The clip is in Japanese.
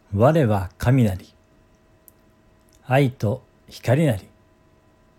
我は神なり。愛と光なり。